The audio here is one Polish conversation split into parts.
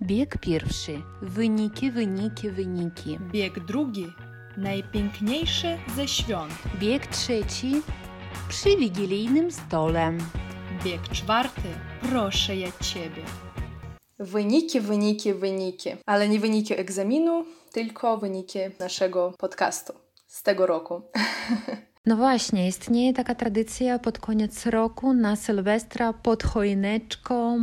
Bieg pierwszy. Wyniki, wyniki, wyniki. Bieg drugi. Najpiękniejszy ze świąt. Bieg trzeci. Przy wigilijnym stole. Bieg czwarty. Proszę ja Ciebie. Wyniki, wyniki, wyniki. Ale nie wyniki egzaminu, tylko wyniki naszego podcastu z tego roku. No właśnie, istnieje taka tradycja pod koniec roku na Sylwestra pod choineczką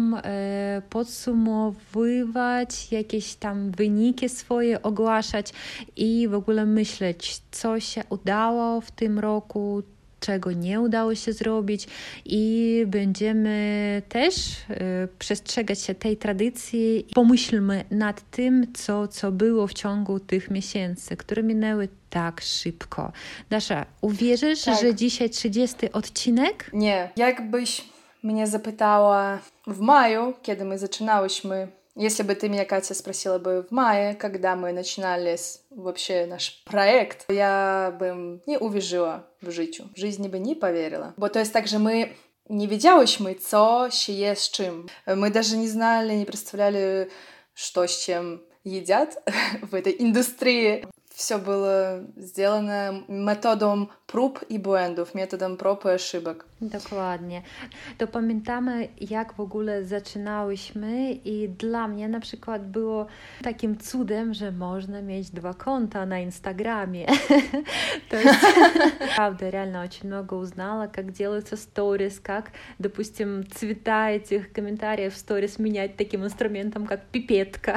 podsumowywać jakieś tam wyniki swoje, ogłaszać i w ogóle myśleć, co się udało w tym roku, czego nie udało się zrobić i będziemy też przestrzegać się tej tradycji. Pomyślmy nad tym, co było w ciągu tych miesięcy, które minęły tak szybko. Dasza, uwierzysz, że dzisiaj 30 odcinek? Nie. Jakbyś mnie запытала в мaju, kiedy my zaczynałyśmy, если бы ты меня, Катя, спросила бы в мае, когда мы начинали вообще наш проект, я бы не uwierzyła w życiu. W жизни бы не поверила. Bo to jest tak, że my nie wiedziałyśmy, co się je z czym. Мы даже не знали, не представляли, что с чем едят в этой индустрии. Все было сделано методом prób i błędów, metodem prób i ошибок. Dokładnie. To pamiętamy, jak w ogóle zaczynałyśmy i dla mnie na przykład było takim cudem, że można mieć 2 konta на Инстаграме. То есть, правда, реально очень много узнала, как делаются сторис, как, допустим, цвета этих комментариев в сторис менять таким инструментом, как пипетка.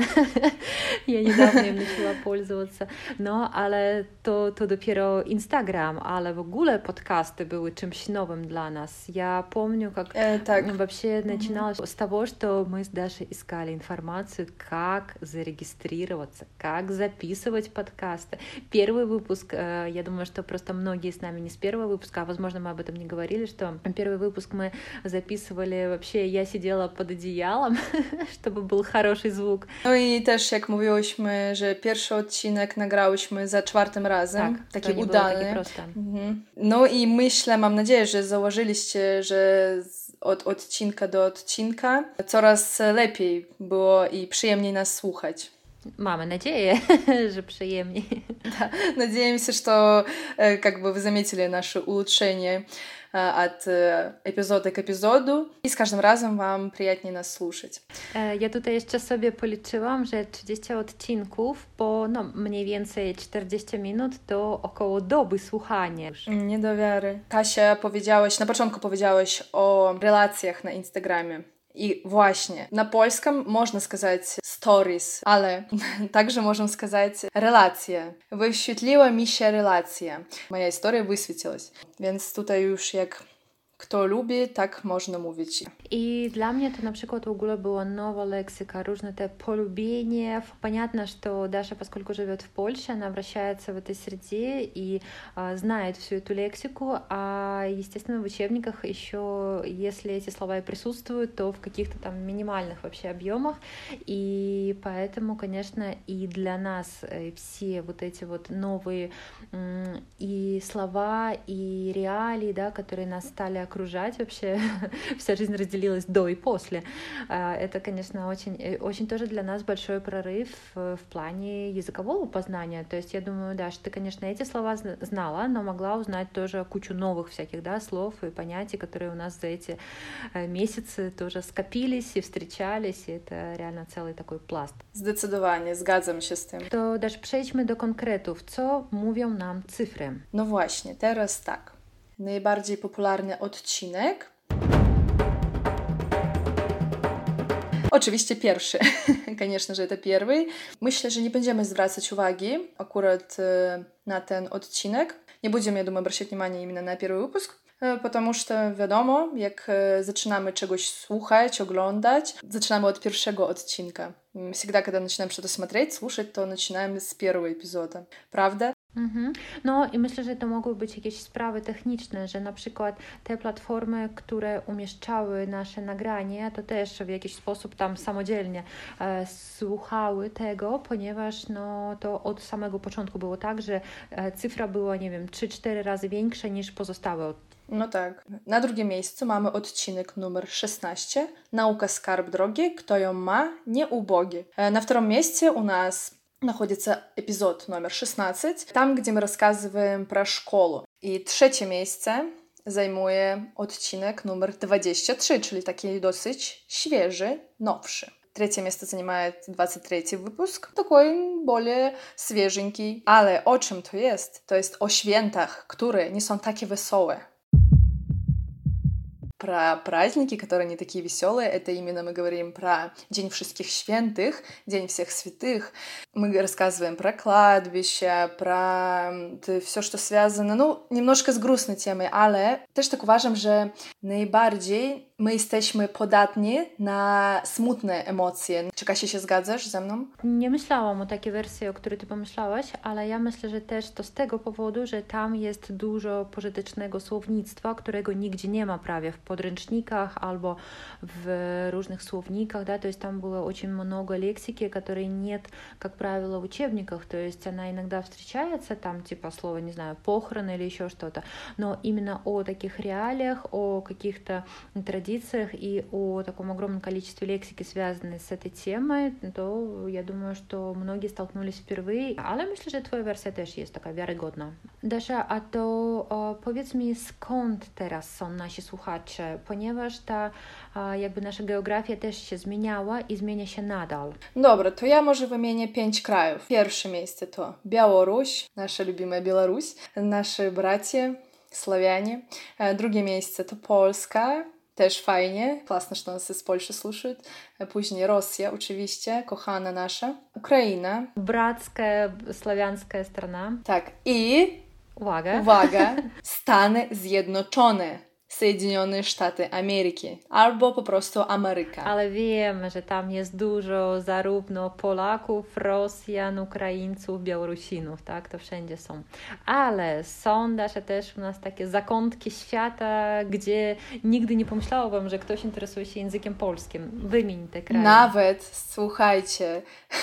Я недавно им начала пользоваться. No, ale to dopiero Instagram, ale в ogóle подкасты były czymś nowym dla нас. Я помню, как вообще начиналось с того, что мы с Дашей искали информацию, как зарегистрироваться, как записывать подкасты. Первый выпуск, я думаю, что просто многие с нами не с первого выпуска, а возможно, мы об этом не говорили, что первый выпуск мы записывали вообще, я siedziała pod одеялом, чтобы był хороший звук. No i też jak mówiłyśmy, że pierwszy odcinek nagrałyśmy za 4 razem, tak, taki to nie udany. Było takie proste. No i myślę, mam nadzieję, że założyliście, że od odcinka do odcinka coraz lepiej było i przyjemniej nas słuchać. Mamy nadzieję, że przyjemniej. Да, надеемся, что как бы вы заметили наше улучшение от эпизода к эпизоду, и с каждым разом вам приятнее нас слушать. Ja tutaj jeszcze sobie policzyłam, że 30 odcinków po mniej więcej 40 minut to około doby słuchania. Nie do wiary. Kasia, na początku powiedziałaś o relacjach na Instagramie. I właśnie, na polskim można сказать stories, ale także możemy сказать relacje. Wyświetliła mi się relacja. Moja historia wysветилась. Więc tutaj już jak kto lubi, tak można mówić. И для меня это, на przykład, в ogóle была новая лексика, różne te полюбения. Понятно, что Даша, поскольку живет в Польше, она вращается в этой среде и знает всю эту лексику, а, естественно, в учебниках еще, если эти слова и присутствуют, то в каких-то там минимальных вообще объемах. И поэтому, конечно, и для нас все вот эти вот новые и слова, и реалии, да, которые нас стали окружать вообще, вся жизнь разделилась до и после. Это, конечно, очень, очень тоже для нас большой прорыв в плане языкового познания. То есть я думаю, да, что ты, конечно, эти слова знала, но могла узнать тоже кучу новых всяких, да, слов и понятий, которые у нас за эти месяцы тоже скопились и встречались, и это реально целый такой пласт. Zdecydowanie, zgadzam się z tym. To też przejdźmy do konkretów. Co mówią nam cyfry? No właśnie, teraz tak. Najbardziej popularny odcinek. Oczywiście pierwszy. Конечно же, это первый. Myślę, że nie będziemy zwracać uwagi akurat na ten odcinek. Nie będziemy, я думаю, обращать внимание именно на первый выпуск, потому что, wiadomo, jak zaczynamy czegoś słuchać, oglądać, zaczynamy od pierwszego odcinka. Всегда, когда начинаем что-то смотреть, слушать, то начинаем с первого эпизода. Правда? No i myślę, że to mogły być jakieś sprawy techniczne, że na przykład te platformy, które umieszczały nasze nagranie, to też w jakiś sposób tam samodzielnie słuchały tego, ponieważ no, to od samego początku było tak, że cyfra była, nie wiem, 3-4 razy większa niż pozostałe No tak. Na drugim miejscu mamy odcinek numer 16. Наука скарб drogi, kto ją ma, nie ubogi. На втором месте у нас находится эпизод номер 16, там, где мы рассказываем про школу. I trzecie miejsce zajmuje odcinek numer 23, czyli taki dosyć świeży, nowszy. Третье место занимает 23-й выпуск, такой более свеженький. Ale o czym to jest? To jest o świętach, które nie są takie wesołe. Про праздники, которые не такие веселые, это именно мы говорим про День Wszystkich Świętych, День всех святых. Мы рассказываем про кладбище, про все, что связано, немножко z грустной темой, ale też tak uważam, że najbardziej my jesteśmy podatni na smutne emocje. Czy Kasia się zgadzasz ze mną? Nie myślałam o takiej wersji, o której ty pomyślałaś, ale ja myślę, że też to z tego powodu, że tam jest dużo pożytecznego słownictwa, którego nigdzie nie ma prawie w podręcznikach albo w różnych słowниках, да, то есть там было очень много лексики, которой нет, как правило, в учебниках, то есть она иногда встречается, там типа слово, не знаю, похороны или еще что-то, но именно о таких реалиях, о каких-то традициях и о таком огромном количестве лексики, связанной с этой темой, to ja думаю, что многие столкнулись впервые, ale myślę, że twoja wersja też jest taka wiarygodna. Dasza, a to powiedz mi, skąd teraz są nasi słuchacze, ponieważ ta jakby nasza geografia też się zmieniała i zmienia się nadal. Dobra, to ja może wymienię 5 krajów. Pierwsze miejsce to Białoruś, nasza любимая Беларусь, наши братья, славяне. Drugie miejsce to Polska, też fajnie, классно, что нас из Польши слушают. Później Rosja, oczywiście, kochana nasza. Ukraina. Братская славянская страна. Tak, i uwaga, Stany Zjednoczone. Соединенные Штаты Америки albo po prostu Ameryka. Ale wiemy, że tam jest dużo zarówno Polaków, Rosjan, Ukraińców, Białorusinów, tak? To wszędzie są. Ale są też u nas takie zakątki świata, gdzie nigdy nie pomyślałabym, że ktoś interesuje się językiem polskim. Wymień te kraje. Nawet, słuchajcie,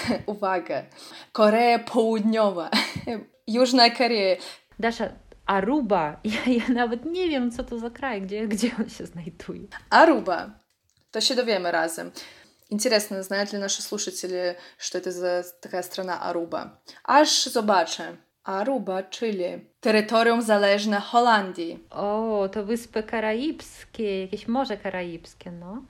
uwaga, Korea Południowa, Jużna Korea. Dasza, Aruba. Ja nawet nie wiem, co to za kraj, gdzie on się znajduje. Aruba. To się dowiemy razem. Интересно, знают ли наши слушатели, что это за такая страна Aruba? Aż zobaczę. Aruba, czyli terytorium zależne Holandii. O, to Wyspy Karaibskie, jakieś Morze Karaibskie, no.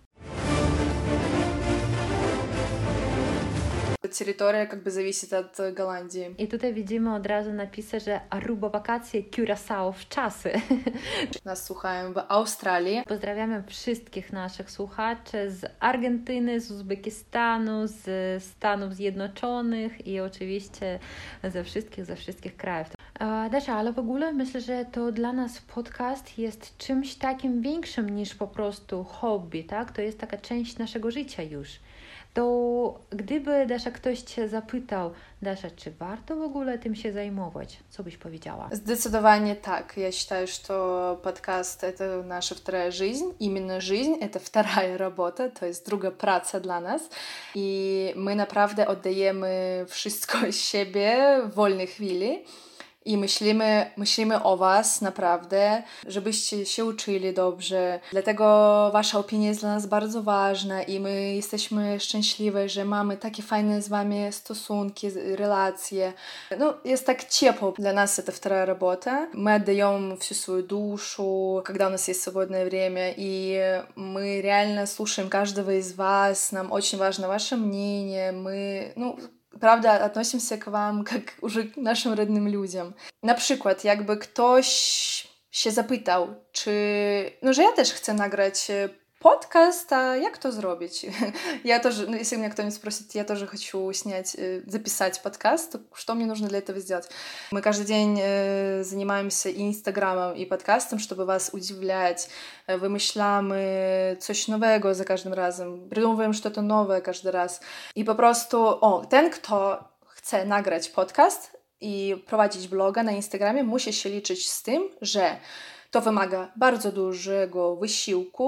Территория как бы зависит от Голландии. I tutaj widzimy od razu napisy, że Aruba wakacje, Curaçao w czasy. Nas słuchają w Australii. Pozdrawiamy wszystkich naszych słuchaczy z Argentyny, z Uzbekistanu, z Stanów Zjednoczonych i oczywiście ze wszystkich krajów. Dasza, ale w ogóle myślę, że to dla nas podcast jest czymś takim większym niż po prostu hobby, tak? To jest taka część naszego życia już. To gdyby, Dasza, ktoś Cię zapytał, Dasza, czy warto w ogóle tym się zajmować? Co byś powiedziała? Зdecydowanie так. Я считаю, что подкаст — это наша вторая жизнь. Именно жизнь — это вторая работа, to jest druga praca dla nas. I my naprawdę oddajemy wszystko z siebie w wolnej chwili. I myślimy o Was naprawdę, żebyście się uczyli dobrze. Dlatego Wasza opinia jest dla nas bardzo ważna i my jesteśmy szczęśliwe, że mamy takie fajne z Wami stosunki, relacje. Jest tak ciepło. Для нас это вторая работа. Мы отдаем всю свою душу, когда у нас есть свободное время, и мы реально слушаем каждого из вас. Нам очень важно ваше мнение. Мы, prawda, относимся к вам как уже к нашим родным людям. Na przykład, jakby ktoś się zapytał, że ja też chcę nagrać подкаст, а jak to zrobić? Я тоже, если меня кто-нибудь спросит, я тоже хочу записать подкаст, то что мне нужно для этого сделать? Мы каждый день занимаемся и Инстаграмом, и подкастом, чтобы вас удивлять. Wymyślamy coś nowego za każdym razem. Придумываем что-то новое каждый раз. I po prostu, ten, kto chce nagrać podcast i prowadzić bloga na Instagramie, musi się liczyć z tym, że to wymaga bardzo dużego wysiłku,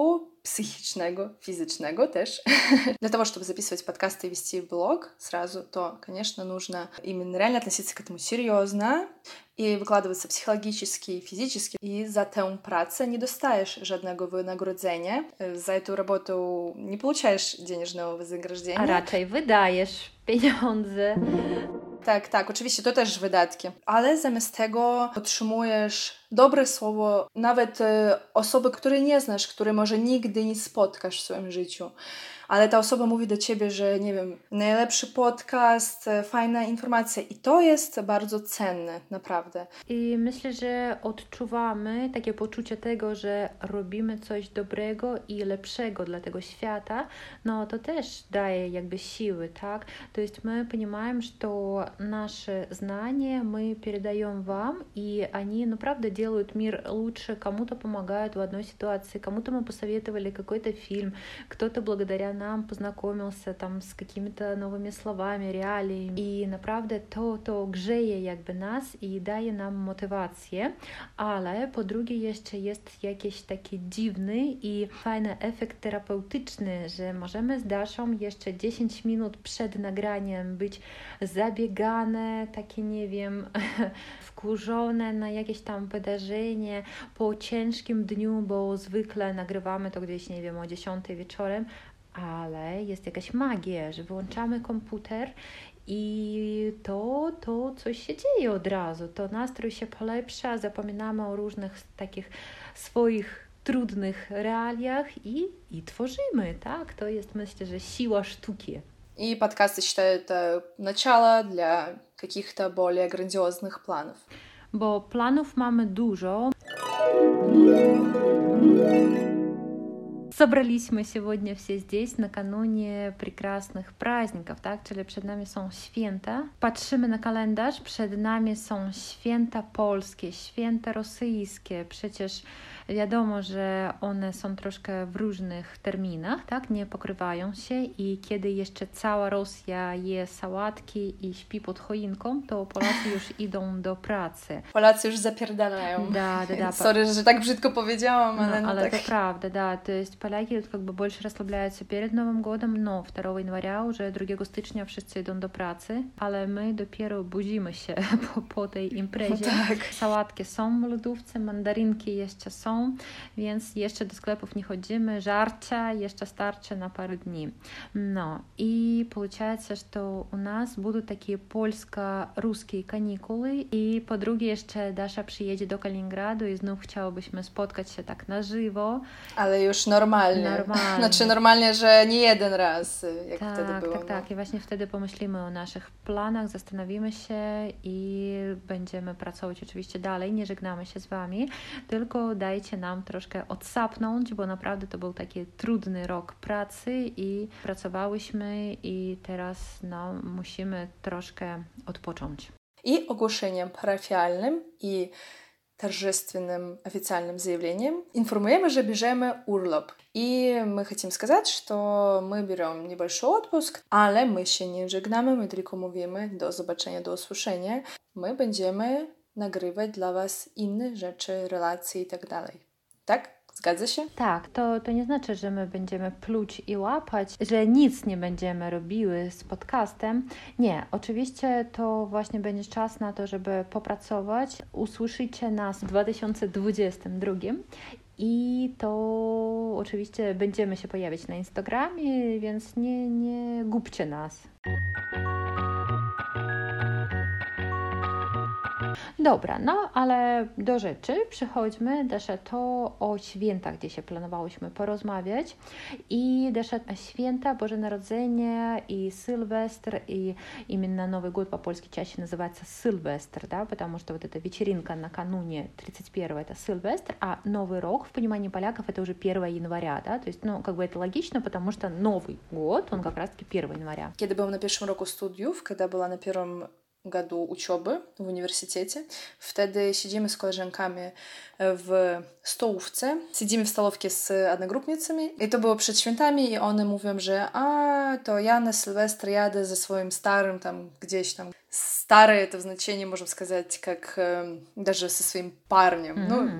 психичного, физичного też. Для того, чтобы записывать подкасты и вести блог сразу, то, конечно, нужно именно реально относиться к этому серьезно i wykładаться psychologicznie, fizycznie. I za tę pracę nie dostajesz żadnego wynagrodzenia. Za tę robotę nie получаешь денежного вознаграждения. A raczej wydajesz pieniądze. Tak, oczywiście to też wydatki. Ale zamiast tego otrzymujesz dobre słowo nawet osoby, której nie znasz, której może nigdy nie spotkasz w swoim życiu. Ale ta osoba mówi do ciebie, że nie wiem, najlepszy podcast, fajna informacja i to jest bardzo cenne, naprawdę. I myślę, że odczuwamy takie poczucie tego, że robimy coś dobrego i lepszego dla tego świata, no to też daje jakby siły, tak? То есть мы понимаем, что наши знания мы передаем вам, и они, ну, правда, делают мир лучше, кому-то помогают в одной ситуации, кому-то мы посоветовали какой-то фильм, кто-то благодаря нам познакомился там з какими-то новими словами, реаліями. І naprawdę to grzeje jakby nas i daje nam motywację, ale po drugie jeszcze jest jakiś taki dziwny i fajny efekt terapeutyczny, że możemy z Daszą jeszcze 10 minut przed nagraniem być zabiegane, takie nie wiem, wkurzone na jakieś tam wydarzenie po ciężkim dniu, bo zwykle nagrywamy to gdzieś, nie wiem, o 10 wieczorem, ale jest jakaś magia, że wyłączamy komputer i to coś się dzieje od razu, to nastrój się polepsza, zapominamy o różnych takich swoich trudnych realiach i tworzymy, tak? To jest, myślę, że siła sztuki. И подкасты, считаю, это начало для каких-то более грандиозных планов. Bo planów mamy dużo. Собрались сегодня все здесь накануне прекрасnych праздников, tak? Czyli przed nami są święta. Patrzymy na kalendarz, przed nami są święta polskie, święta rosyjskie. Przecież wiadomo, że one są troszkę w różnych terminach, tak? Nie pokrywają się i kiedy jeszcze cała Rosja je sałatki i śpi pod choinką, to Polacy już idą do pracy. Polacy już zapierdalają. Да. Sorry, że tak brzydko powiedziałam, ale no tak. Это правда, да. То есть поляки как бы больше расслабляются перед Новым годом, но 2 января уже 2 stycznia wszyscy idą do pracy, ale my dopiero budzimy się po tej imprezie. Tak. Sałatki są w lodówce, mandarynki jeszcze są, więc jeszcze do sklepów nie chodzimy, żarcia jeszcze starczy na parę dni. No и получается, что у нас будут такие польско-русские каникулы i po drugie jeszcze Dasza przyjedzie do Kaliningradu i znów chciałobyśmy spotkać się tak na żywo. Ale już normalnie. Znaczy normalnie, że nie jeden raz, jak wtedy było. Tak. I właśnie wtedy pomyślimy o naszych planach, zastanowimy się i będziemy pracować oczywiście dalej. Nie żegnamy się z Wami, tylko dajcie nam troszkę odsapnąć, bo naprawdę to był taki trudny rok pracy i pracowałyśmy i teraz musimy troszkę odpocząć. И ogłoszeniem parafialnym i торжественным официальным заявлением информируем, что бежим урlop. И мы хотим сказать, что мы берем небольшой отпуск, ale my się nie żegnamy, my tylko mówimy do zobaczenia, do usłyszenia. My będziemy nagrywać dla Was inne rzeczy, relacje i tak dalej. Tak? Zgadza się? Tak, to nie znaczy, że my będziemy pluć i łapać, że nic nie będziemy robiły z podcastem. Nie, oczywiście to właśnie będzie czas na to, żeby popracować. Usłyszycie nas w 2022 i to oczywiście będziemy się pojawiać na Instagramie, więc nie gubcie nas. Dobra, ale do rzeczy przechodźmy. Dasza, to o świętach, gdzie się planowałyśmy porozmawiać. I Dasza, święta, Boże Narodzenie i Sylwestr, и именно Новый год по-польски чаще называется Сильвестр, да, потому что вот эта вечеринка накануне 31-го это Сильвестр, а Новый рок в понимании поляков это уже 1 января, да, то есть, как бы это логично, потому что Новый год, он как раз-таки 1 января. Kiedy byłam na pierwszym roku studiów, когда была на первом году учебы в университете. Wtedy siedzimy z koleżankami w stołówce. Siedzimy w stolówce z одногруппницами. I to było przed świętami i one mówią, że to ja na Sylwestra jadę ze swoim starym tam gdzieś tam. Stary to w znaczeniu, można сказать, как даже со своим парнем.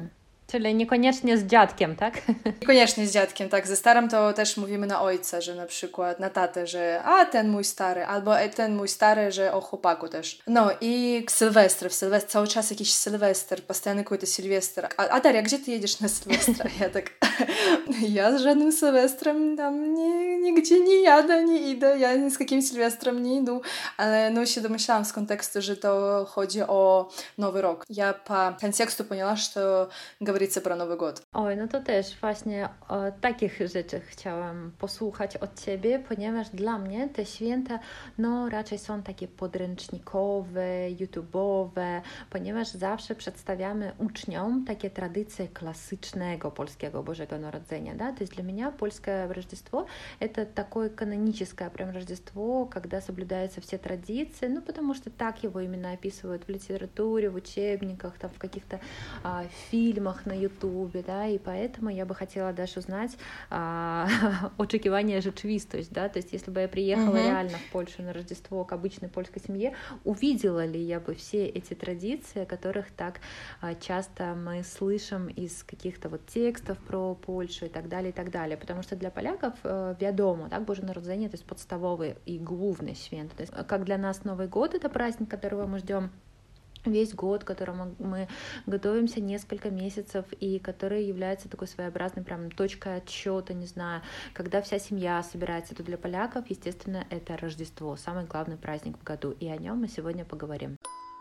Czyli niekoniecznie z dziadkiem, tak? Niekoniecznie z dziadkiem, tak. Ze starym to też mówimy na ojca, że na przykład na tatę, że a ten mój stary, albo ten mój stary, że o chłopaku też. No i Sylwestr, cały czas jakiś Sylwester, постоянно какой-то Сильвестр. A Daria, gdzie ty jedziesz na Sylwestra? Ja tak, ja z żadnym Sylwestrem tam nigdzie nie jadę, nie idę, ja ni z jakim Sylwestrem nie idę, ale no się domyślałam z kontekstu, że to chodzi o Nowy Rok. Ja po kontekstu поняла, что говорится про Новый год. Oj, no to też właśnie o takich rzeczach chciałam posłuchać od Ciebie, ponieważ dla mnie te święta no raczej są takie podręcznikowe, YouTube'owe, ponieważ zawsze przedstawiamy uczniom takie tradycje klasycznego polskiego Bożego Narodzenia, да? То есть для меня польское Рождество это такое каноническое прям Рождество, когда соблюдаются все традиции, ну потому что так его именно описывают в литературе, в учебниках, там в каких-то фильмах на Ютубе, да, и поэтому я бы хотела даже узнать oczekiwania rzeczywistość, да, то есть если бы я приехала реально в Польшу на Рождество к обычной польской семье, увидела ли я бы все эти традиции, о которых так часто мы слышим из каких-то вот текстов про Польшу и так далее, потому что для поляков wiadomo, так, Божье Народзение, то есть подставовый и главный święto, то есть как для нас Новый год это праздник, которого мы ждем весь год, к которому мы готовимся несколько месяцев, и который является такой своеобразной прям точкой отсчета, не знаю, когда вся семья собирается, то для поляков, естественно, это Рождество, самый главный праздник в году, и о нем мы сегодня поговорим.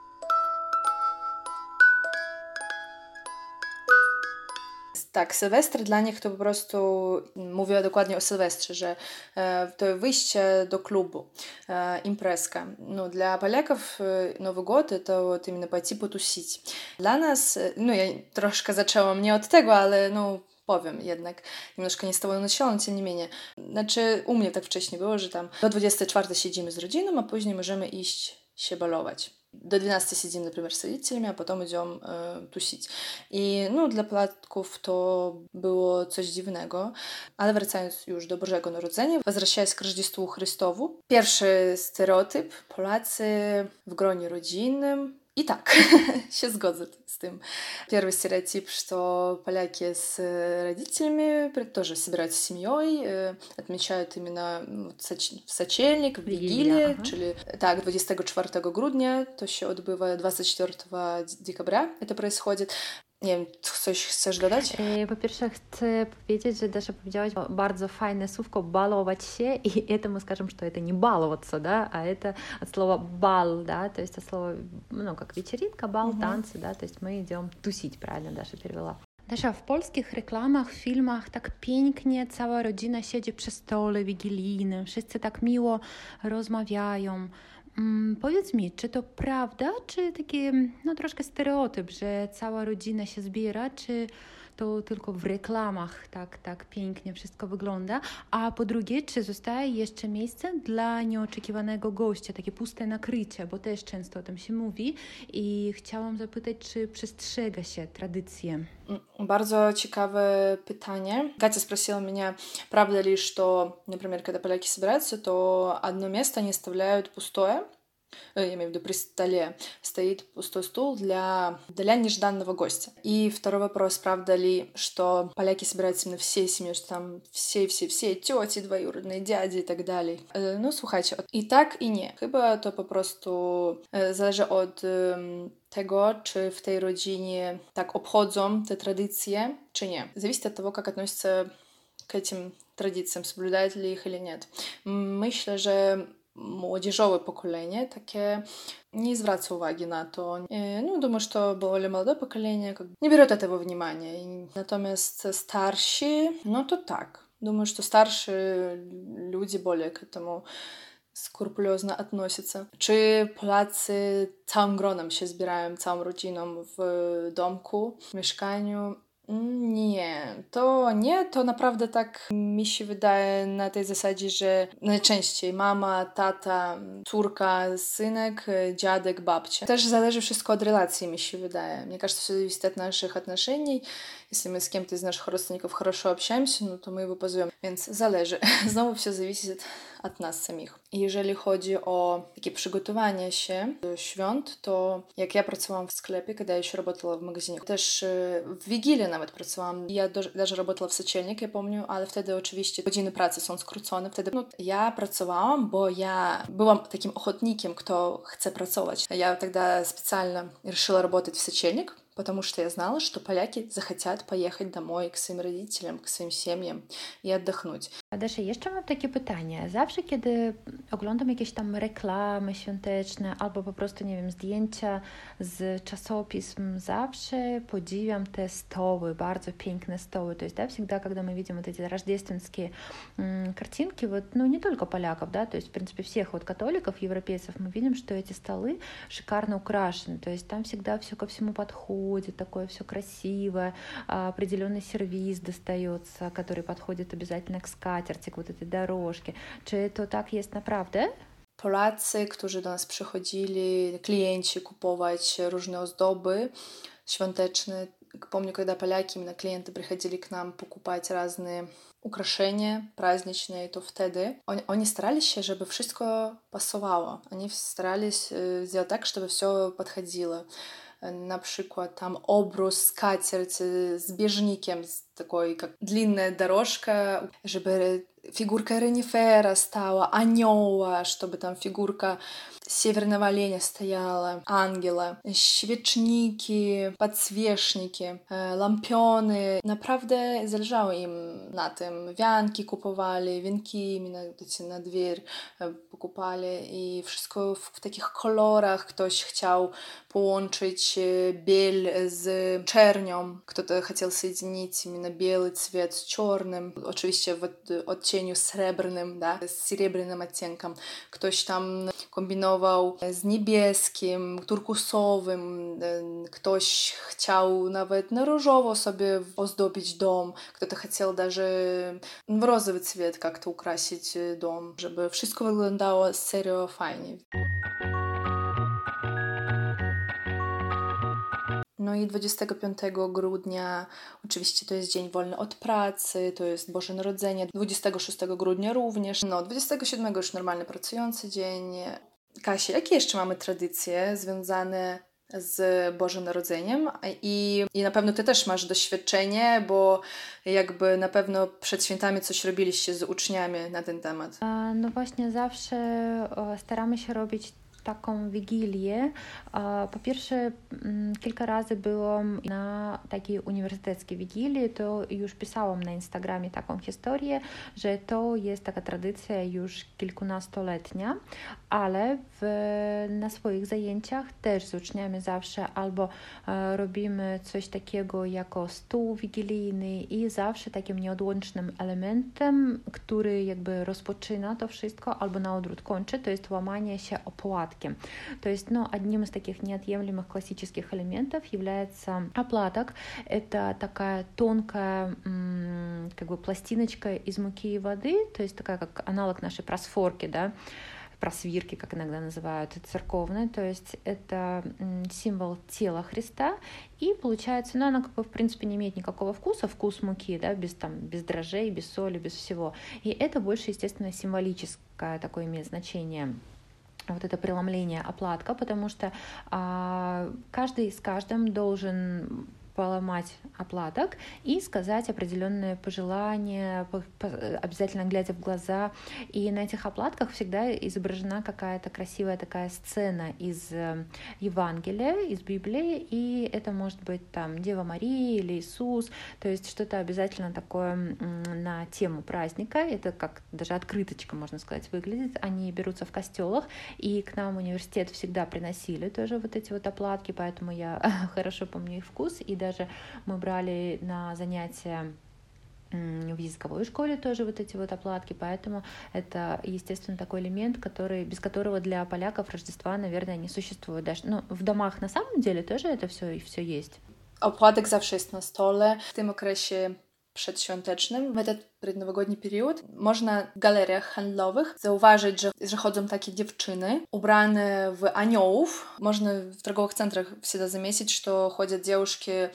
Tak, Sylwester dla nich to po prostu, mówię dokładnie o Sylwestrze, że to wyjście do klubu, imprezka. No, dla Polaków Nowy Gод to вот именно пойти потусить. Dla nas, no ja troszkę zaczęłam nie od tego, ale no powiem jednak, немножко nie z tego начала, но тем не менее. Znaczy u mnie tak wcześniej było, że tam do 24 siedzimy z rodziną, a później możemy iść się balować. До 12 сидим, например, с родителями, а потом идем тусить. I no, dla Polaków to było coś dziwnego, ale wracając już do Bożego Narodzenia, возвращаясь к Рождеству Христову, pierwszy stereotyp, Polacy w gronie rodzinnym. И так, się zgodzę z tym. Первый стереотип, что поляки с родителями тоже собираются с семьей, отмечают именно в сочельник, в Вигилии, czyli tak, 24 grudnia, to się odbywa 24 декабря, это происходит. Nie wiem, coś chcesz dodać? Po pierwsze chcę powiedzieć, że Dasza powiedziałaś bardzo fajne słówko «баловать się» и это мы скажем, что это не баловаться, да, а это от слова «бал», да, то есть от слова, ну, как вечеринка, бал, танцы, да, то есть мы идем тусить, правильно Dasza перевела. Dasza, w polskich reklamach, filmach tak pięknie cała rodzina siedzi przy stole wigilijnym, wszyscy tak miło rozmawiają. Powiedz mi, czy to prawda, czy taki no, troszkę stereotyp, że cała rodzina się zbiera, czy to tylko w reklamach tak pięknie wszystko wygląda, a po drugie, czy zostaje jeszcze miejsce dla nieoczekiwanego gościa, takie puste nakrycie, bo też często o tym się mówi i chciałam zapytać, czy przestrzega się tradycje? Bardzo ciekawe pytanie. Катя спросила меня, правда ли, что, например, когда поляки собираются, то одно место не оставляют пустое. Я имею в виду при столе стоит пустой стул для нежданного гостя. И второй вопрос, правда ли, что поляки собираются именно всей семьей, что там все тети, двоюродные дяди и так dalej. No słuchajcie, i tak i nie. Chyba to po prostu zależy od tego, czy w tej rodzinie tak obchodzą te tradycje, czy nie. Зависит от того, как относятся к этим традициям, соблюдают ли их или нет. Myślę, że młodzieżowe pokolenie takie не zwraca uwagi na to. Ну, думаю, что более молодое поколение не берет этого внимания. Natomiast starsi, no to tak. Думаю, что старшие люди более к этому skrupulatnie относятся. Czy Polacy całym gronem się zbierają, całą rodziną w domku, w mieszkaniu? Nie, to naprawdę tak mi się wydaje na tej zasadzie, że najczęściej mama, tata, córka, synek, dziadek, babcia. Też zależy wszystko od relacji, mi się wydaje. Мне кажется, все зависит от наших отношений. Если мы с кем-то из наших родственников хорошо общаемся, no to my его позовем. Więc zależy. Znowu все зависит od nas samych. Jeżeli chodzi o takie przygotowanie się do świąt, to jak ja pracowałam w sklepie, kiedy jeszcze работала w magazynie, też w Wigilię nawet pracowałam. Ja даже работала w Сочельник, ja помню, ale wtedy oczywiście godziny pracy są skrócone. Wtedy ja pracowałam, bo ja byłam takim ochotnikiem, kto chce pracować. Я тогда специально решила работать в Сочельник, потому что я знала, что поляки захотят поехать домой к своим родителям, к своим семьям и отдохнуть. Adasia, jeszcze mam takie pytanie. Zawsze, kiedy oglądam jakieś tam reklamy świąteczne albo po prostu, nie wiem, zdjęcia z czasopism, zawsze podziwiam te stoły, bardzo piękne stoły. То есть, да, всегда, когда мы видим вот эти рождественские картинки, вот, ну, не только поляков, да, то есть, в принципе, всех вот католиков, европейцев, мы видим, что эти столы шикарно украшены. То есть, там всегда все ко всему подходит, такое все красивое, определенный сервиз достается, который подходит обязательно к скатерти, к вот этой дорожке. Czy to tak jest naprawdę? Polacy, którzy do nas przychodzili, klienci kupować różne ozdoby świąteczne. Помню, когда поляки, именно клиенты приходили к нам покупать разные украшения праздничные, то wtedy oni starались się, żeby wszystko pasowało. Oni starались сделать так, чтобы все подходило. На przykład там обрус, скатерть с бежником, такой как длинная дорожка, чтобы фигурка Ренифера стала, анёла, чтобы там фигурка северного оленя стояла, ангела, świeczniki, подсвечники, lampiony. Naprawdę zależało im na tym. Wianki kupowali, wienki na dwór pokupali i wszystko w takich kolorach. Ktoś chciał połączyć biel z czernią. Кто-то хотел соединить именно белый цвет с черным. Oczywiście w odcieniu srebrnym, да, z серебряным оттенком. Ktoś tam kombinował z niebieskim, turkusowym. Ktoś chciał nawet na różowo sobie ozdobić dom. Кто-то хотел даже w розовый цвет как-то украсить дом, żeby wszystko wyglądało serio fajnie. No i 25 grudnia oczywiście to jest dzień wolny od pracy, to jest Boże Narodzenie, 26 grudnia również, no 27 już normalny pracujący dzień. Kasia, jakie jeszcze mamy tradycje związane z Bożym Narodzeniem? I na pewno ty też masz doświadczenie, bo jakby na pewno przed świętami coś robiliście z uczniami na ten temat. No właśnie zawsze staramy się robić taką wigilię. Po pierwsze, kilka razy byłam na takiej uniwersyteckiej wigilii, to już pisałam na Instagramie taką historię, że to jest taka tradycja już kilkunastoletnia, ale na swoich zajęciach też z uczniami zawsze albo robimy coś takiego jako stół wigilijny i zawsze takim nieodłącznym elementem, który jakby rozpoczyna to wszystko albo na odwrót kończy, to jest łamanie się opłatkiem. То есть, одним из таких неотъемлемых классических элементов является оплаток. Это такая тонкая как бы пластиночка из муки и воды, то есть такая как аналог нашей просфорки, да, просвирки, как иногда называют, церковной, то есть это символ тела Христа, и получается, она как бы в принципе не имеет никакого вкуса, вкус муки, да, без дрожжей, без соли, без всего, и это больше, естественно, символическое такое имеет значение. Вот это преломление оплатка, потому что каждый с каждым должен поломать оплаток и сказать определенные пожелания, обязательно глядя в глаза. И на этих оплатках всегда изображена какая-то красивая такая сцена из Евангелия, из Библии, и это может быть там Дева Мария или Иисус, то есть что-то обязательно такое на тему праздника. Это как даже открыточка, можно сказать, выглядит. Они берутся в костелах, и к нам в университет всегда приносили тоже вот эти вот оплатки, поэтому я хорошо помню их вкус, и даже мы брали на занятия в языковой школе тоже вот эти вот оплатки, поэтому это, естественно, такой элемент, без которого для поляков Рождества, наверное, не существует. Даже, в домах на самом деле тоже это все есть. Opłatek zawsze jest na stole. W tym okresie przedświątecznym, w ten предновогодний период, można w galeriach handlowych zauważyć, że chodzą takie dziewczyny ubrane w aniołów. Można w торговых центрах всегда заметить, что ходят девушки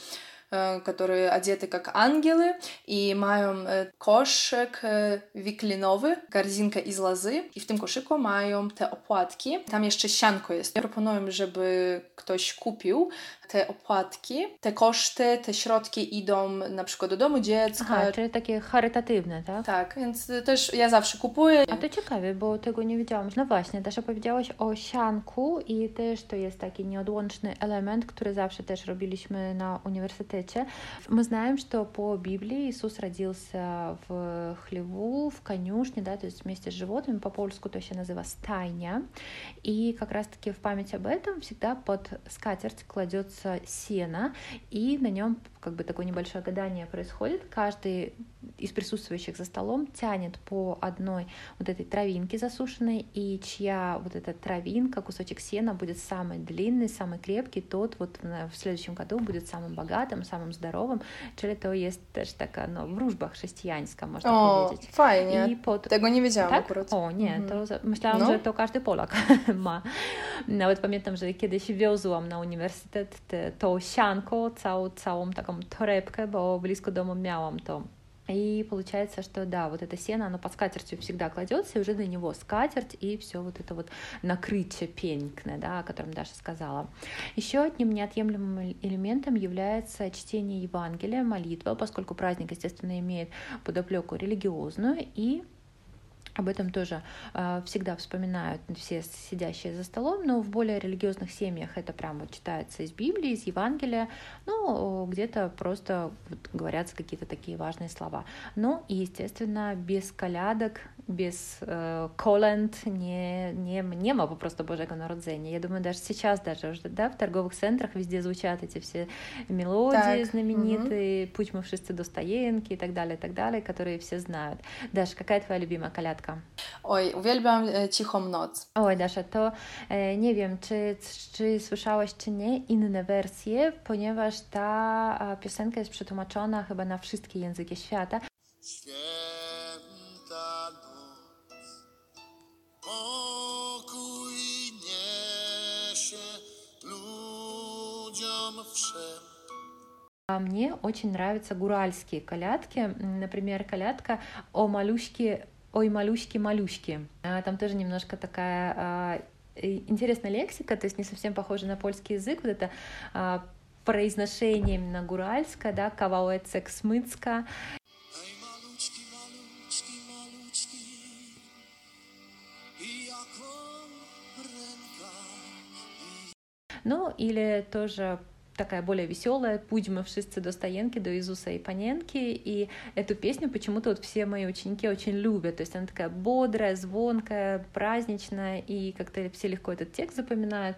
которые одеты как ангелы i mają koszyk wiklinowy, korzinka z lozy i w tym koszyku mają te opłatki. Tam jeszcze sianko jest. Proponuję, żeby ktoś kupił te opłatki. Te koszty, te środki idą na przykład do domu dziecka. Aha, czyli takie charytatywne, tak? Tak, więc też ja zawsze kupuję. A to ciekawe, bo tego nie wiedziałam. No właśnie, też opowiedziałaś o sianku i też to jest taki nieodłączny element, który zawsze też robiliśmy na uniwersytecie. Мы знаем, что по Библии Иисус родился в хлеву, в конюшне, да, то есть вместе с животными, по-польску то się nazywa стайня. И как раз-таки в память об этом всегда под скатерть кладется сено, и на нем как бы такое небольшое гадание происходит. Каждый из присутствующих за столом тянет по одной вот этой травинке засушенной, и чья вот эта травинка, кусочек сена будет самый длинный, самый крепкий, тот вот в следующем году будет самым bogатym, samym zdrowym, czyli to jest też taka wróżba chrześcijańska, można powiedzieć. Fajnie. Tego nie wiedziałam tak? akurat. O, nie, to myślałam, że to każdy Polak ma. Nawet pamiętam, że kiedyś wiozłam na uniwersytet to sianko, całą taką torebkę, bo blisko domu miałam to. И получается, что да, вот это сено, оно под скатертью всегда кладется, и уже на него скатерть, и все вот это вот накрытие пенькное, да, о котором Даша сказала. Еще одним неотъемлемым элементом является чтение Евангелия, молитва, поскольку праздник, естественно, имеет подоплеку религиозную, и об этом тоже всегда вспоминают все сидящие за столом, но в более религиозных семьях это прям вот читается из Библии, из Евангелия, ну, где-то просто вот говорятся какие-то такие важные слова. Ну, и, естественно, без колядок, без колęd nie ma po prostu Bożego Narodzenia. Я думаю, даже сейчас даже уже, да, в торговых центрах везде звучат эти все мелодии знаменитые, «Путь мы wszyscy do Stajenki» и так далее, которые все знают. Даша, какая твоя любимая колядка? Oj, uwielbiam Cichą noc. Oj, Dasza, to nie wiem, czy słyszałaś, czy nie, inne wersje, ponieważ ta piosenka jest przetłumaczona chyba na wszystkie języki świata. Święta noc, pokój niesie ludziom wszem. А мне очень нравятся гуральские колядки. Например, колядка «О малюшке, ой, малюшки». Там тоже немножко такая интересная лексика, то есть не совсем похожа на польский язык. Вот это произношение именно гуральское, да, «Кавałeczek smycka». Ну, или тоже такая более веселая, «Путь мы wszyscy до Stajenki», до Иисуса и Паненки, и эту песню почему-то вот все мои ученики очень любят, то есть она такая бодрая, звонкая, праздничная, и как-то все легко этот текст запоминают.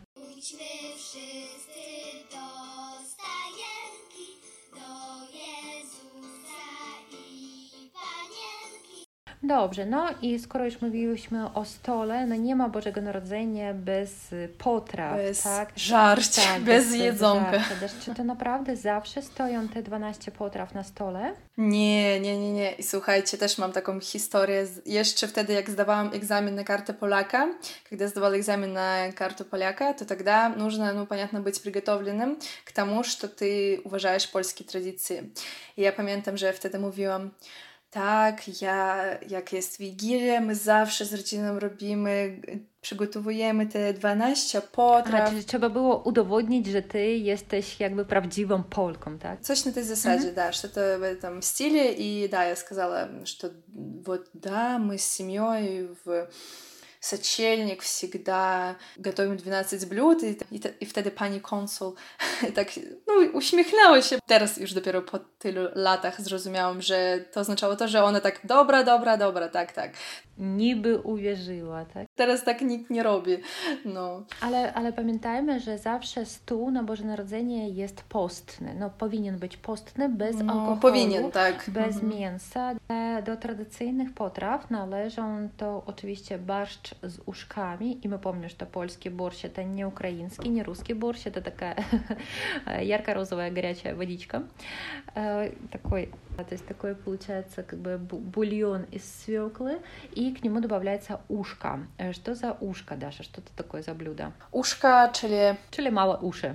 Dobrze, no i skoro już mówiłyśmy o stole, no nie ma Bożego Narodzenia bez potraw, bez tak? żarć, tak, bez jedzonka. Czy to naprawdę zawsze stoją te 12 potraw na stole? Nie. I słuchajcie, też mam taką historię. Jeszcze wtedy, jak zdawałam egzamin na kartę Polaka, когда сдавала экзамен на карту поляка, то тогда нужно, понятно, быть приготовленным к тому, что ты уважаешь польские традиции. I ja pamiętam, że wtedy mówiłam, tak, jak jest Wigilia, my zawsze z rodziną robimy, przygotowujemy te 12 potraw. Czyli trzeba było udowodnić, że ty jesteś jakby prawdziwą Polką, tak? Coś на этой засаде, да, что-то в этом стиле. И да, я сказала, что вот да, мы с семьей в Сочельник всегда готовим 12 блюд, i wtedy pani konsul tak uśmiechnęła się. Teraz już dopiero po tylu latach zrozumiałam, że to oznaczało to, że ona tak dobra, tak. Niby uwierzyła, tak? Teraz tak nikt nie robi, no. Ale pamiętajmy, że zawsze stół na Boże Narodzenie jest postny. No powinien być postny, bez alkoholu, powinien, tak. Bez mięsa. Do tradycyjnych potraw należą to oczywiście barszcz z uszkami. I my помним, что польский борщ это не украинский, не русский борщ, это такая ярко-розовая горячая водичка. Такой, то есть такой получается как бы бульон из свеклы, и к нему добавляется ушко. Что за ушко, Даша? Что это такое за блюдо? Ушко, Czyli małe uszy.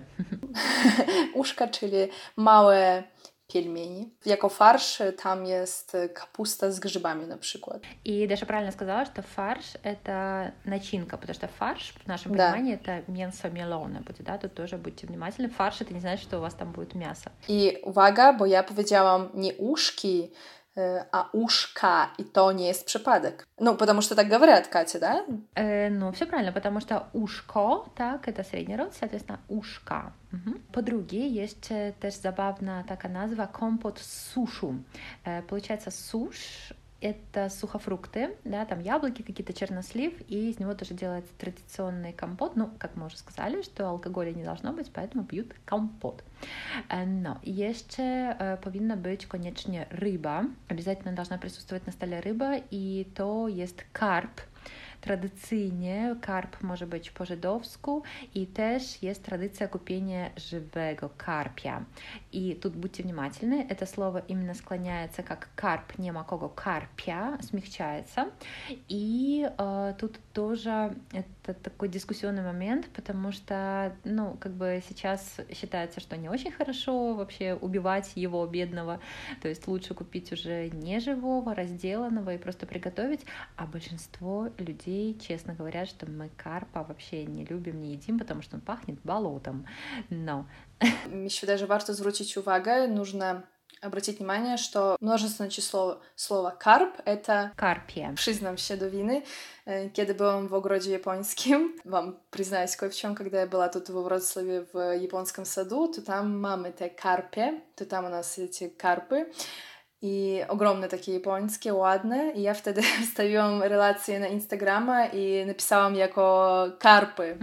Ушко, czyli małe пельмени. Jako farsz tam jest kapusta z grzybami на przykład. И Даша правильно сказала, что фарш — это начинка, потому что фарш в нашем Да. понимании это mięso mielone будет, да, тут тоже будьте внимательны. Фарш — это не значит, что у вас там будет мясо. I uwaga, bo ja powiedziałam nie uszki, a ушка, и то не есть przypadek. Ну, потому что так говорят, Катя, да? Ну, все правильно, потому что ушко, так, это средний род, соответственно, ушка. По-друге, есть też забавная такая назва компот с сушу. Получается, суш — это сухофрукты, да, там яблоки, какие-то чернослив, и из него тоже делается традиционный компот. Ну, как мы уже сказали, что алкоголя не должно быть, поэтому пьют компот. Но jeszcze powinna być koniecznie ryba. Obязательно должна присутствовать на stole ryba, i to jest karp. Tradycyjnie karp może być po żydowsku i też jest tradycja kupienia żywego karpia. И тут будьте внимательны, это слово именно склоняется как карп, не макого карпия, смягчается. И тут тоже это такой дискуссионный момент, потому что, ну, как бы сейчас считается, что не очень хорошо вообще убивать его бедного, то есть лучше купить уже не живого, разделанного и просто приготовить, а большинство людей честно говорят, что мы карпа вообще не любим, не едим, потому что он пахнет болотом. Но Еще даже warto zwrócić uwagę, нужно обратить внимание, что множественное число слова «карп» — это... Карпия. Przyznam się do winy. Kiedy byłam w ogrodzie japońskim, wam признаюсь кое в чем, когда я была тут во Wrocławiu в японском саду, то там mamy te karpie, to tam u nas эти karpy. I ogromne takie japońskie, ładne. I ja wtedy wstawiłam relację na Instagrama i napisałam jako karpy.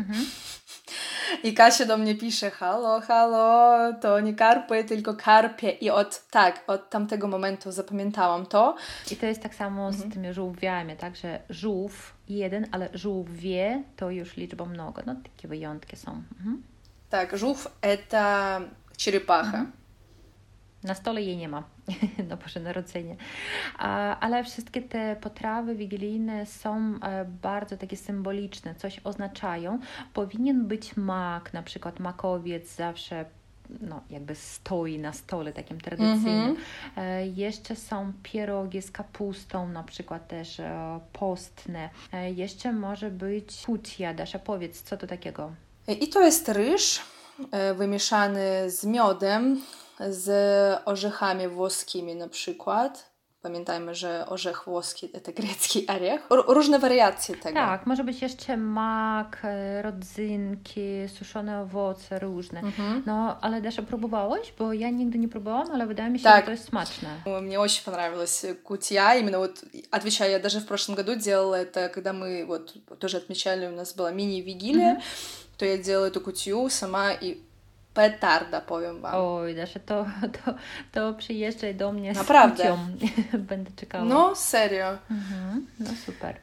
I Kasia do mnie pisze: halo, halo, to nie karpy, tylko karpie. I od tamtego momentu zapamiętałam to. I to jest tak samo z tymi żółwiami, także żółw jeden, ale żółwie to już liczba mnoga. No takie wyjątki są. Tak, żółw это черепаха. Na stole jej nie ma na Boże Narodzenie. Ale wszystkie te potrawy wigilijne są bardzo takie symboliczne, coś oznaczają. Powinien być mak, na przykład makowiec zawsze no, jakby stoi na stole takim tradycyjnym. Jeszcze są pierogi z kapustą, na przykład też postne. Jeszcze może być kutia. Dasza, powiedz, co to takiego? I to jest ryż wymieszany z miodem, z orzechami włoskimi na przykład. Pamiętajmy, że orzech włoski to grecki orzech. Różne wariacje tego. Tak, może być jeszcze mak, rodzynki, suszone owoce różne. No, ale Dasza, próbowałaś? Bo ja nigdy nie próbowałam, ale wydaje mi się, że to jest smaczne. Мне очень понравилась кутья. Именно вот, отвечаю, я даже в прошлом году делала это, когда мы вот тоже отмечали, у нас была мини-вигилия, то я делала эту кутью сама и petarda, powiem wam. Oj, Dasza, to przyjeżdżaj do mnie Naprawdę. z kucią. Będę czekała. No, serio. No super.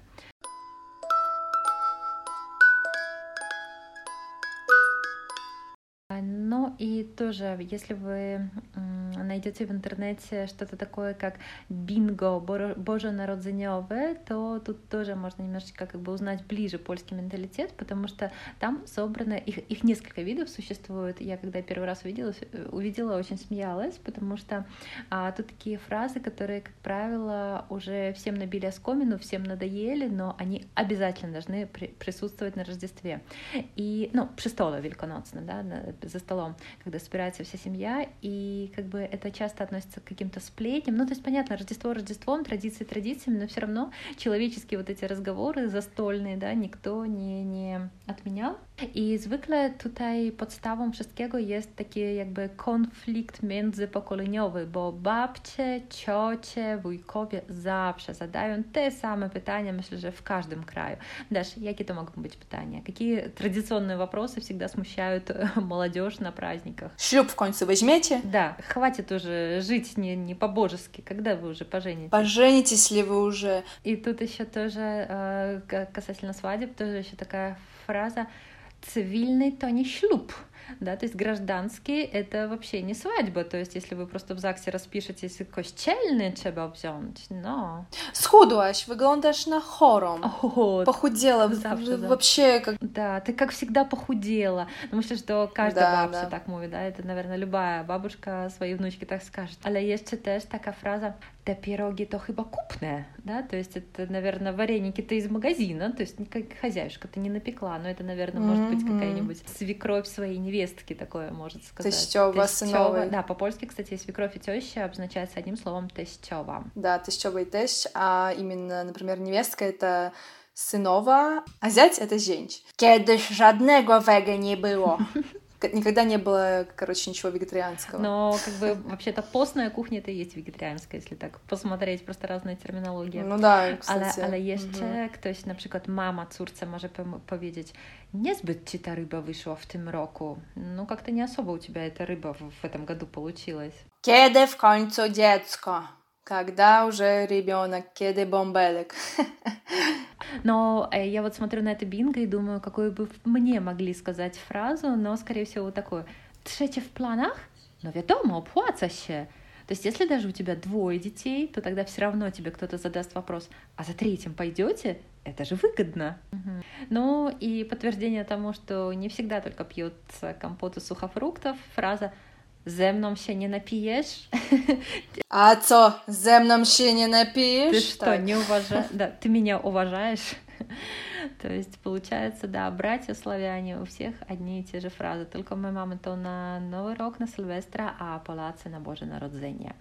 Ну и тоже, если вы найдете в интернете что-то такое, как бинго боженаrodzeniowe, то тут тоже можно немножечко как бы узнать ближе польский менталитет, потому что там собрано, их несколько видов существует. Я когда первый раз увидела, очень смеялась, потому что тут такие фразы, которые, как правило, уже всем набили оскомину, всем надоели, но они обязательно должны присутствовать на Рождестве. И, ну, przy stole wielkanocnym, да, за столом, когда собирается вся семья, и как бы это часто относится к каким-то сплетням. Ну, то есть, понятно, Рождество Рождеством, традиции традициями, но все равно человеческие вот эти разговоры zastolne, да, никто nie отменял. I zwykle tutaj podstawą wszystkiego jest taki jakby konflikt międzypokoleniowy, bo babcie, ciocie, wujkowie zawsze zadają te same pytania, myślę, że в каждом краю. Даш, jakie to mogą być pytania? Какие традиционные вопросы всегда смущают молодежь на праздниках? Ślub w końcu weźmiecie? Да, хватит уже жить не по-божески. Когда вы уже поженитесь? Поженитесь ли вы уже? И тут еще тоже касательно свадеб, тоже еще такая фраза: цивильный то не ślub. Да, то есть гражданский — это вообще не свадьба, то есть если вы просто в ЗАГСе распишетесь, kościelny trzeba wziąć, no. Schudłaś, wyglądasz na chorą. Вот. Похудела, Завтра, да. вообще как... Да, ты как всегда похудела. Ну, myślę, że każda Да, babcia да. tak mówi, да, это, наверное, любая бабушка swojej wnuczki tak скажет. Ale jeszcze też taka fraza, te pierogi to chyba kupne, да, то есть это, наверное, вареники-то из магазина, то есть как хозяюшка ты не напекла, но это, наверное, может быть какая-нибудь свекровь своей невестки, такое может сказать. Тещёва, сыновой. Да, по-польски, кстати, свекровь и теща обозначается одним словом тещёва. Да, тещёва и тещ, а именно, например, невестка — это synowa, a ziać — это zięć. Kiedyś żadnego wege nie było. Никогда не было, короче, ничего вегетарианского. Но как бы вообще-то постная кухня это и есть вегетарианская, если так посмотреть, просто разная терминология. No da, kстати. Ale jeszcze ktoś, na przykład mama córce może powiedzieć, niezbyt ci ta ryba wyszła w tym roku. Ну, как-то не особо у тебя эта рыба в этом году получилась. Kiedy w końcu dziecko? Когда уже ребенок? Kiedy bąbelek? Но я вот смотрю на это бинго и думаю, какую бы мне могли сказать фразу, но, скорее всего, вот такую. Trzecie w planach? No wiadomo, opłaca się. То есть, если даже у тебя 2 детей, то тогда все равно тебе кто-то задаст вопрос, а за 3 пойдете? Это же выгодно. Ну и подтверждение тому, что не всегда только пьется компот из сухофруктов, фраза «Ze mną się nie napijesz». А co, ze mną się nie napijesz? Ты что, не уважаешь? Да, ты меня уважаешь? То есть, получается, да, братья-славяне, у всех одни и те же фразы, только my mamy to na Nowy Rok, na Sylwestra, a Polacy na Boże Narodzenie.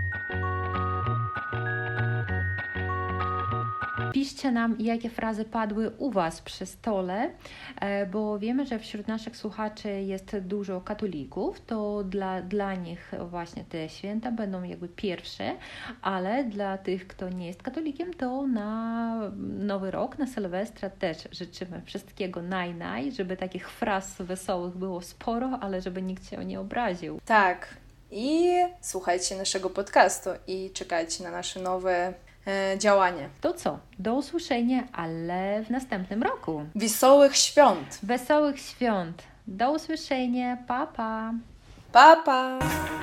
Piszcie nam, jakie frazy padły u Was przy stole, bo wiemy, że wśród naszych słuchaczy jest dużo katolików, to dla nich właśnie te święta będą jakby pierwsze, ale dla tych, kto nie jest katolikiem, to na Nowy Rok, na Sylwestra też życzymy wszystkiego naj, żeby takich fraz wesołych było sporo, ale żeby nikt się nie obraził. Tak. I słuchajcie naszego podcastu i czekajcie na nasze nowe działanie. To co? Do usłyszenia, ale w następnym roku. Wesołych świąt! Wesołych świąt! Do usłyszenia! Pa, pa! Pa, pa!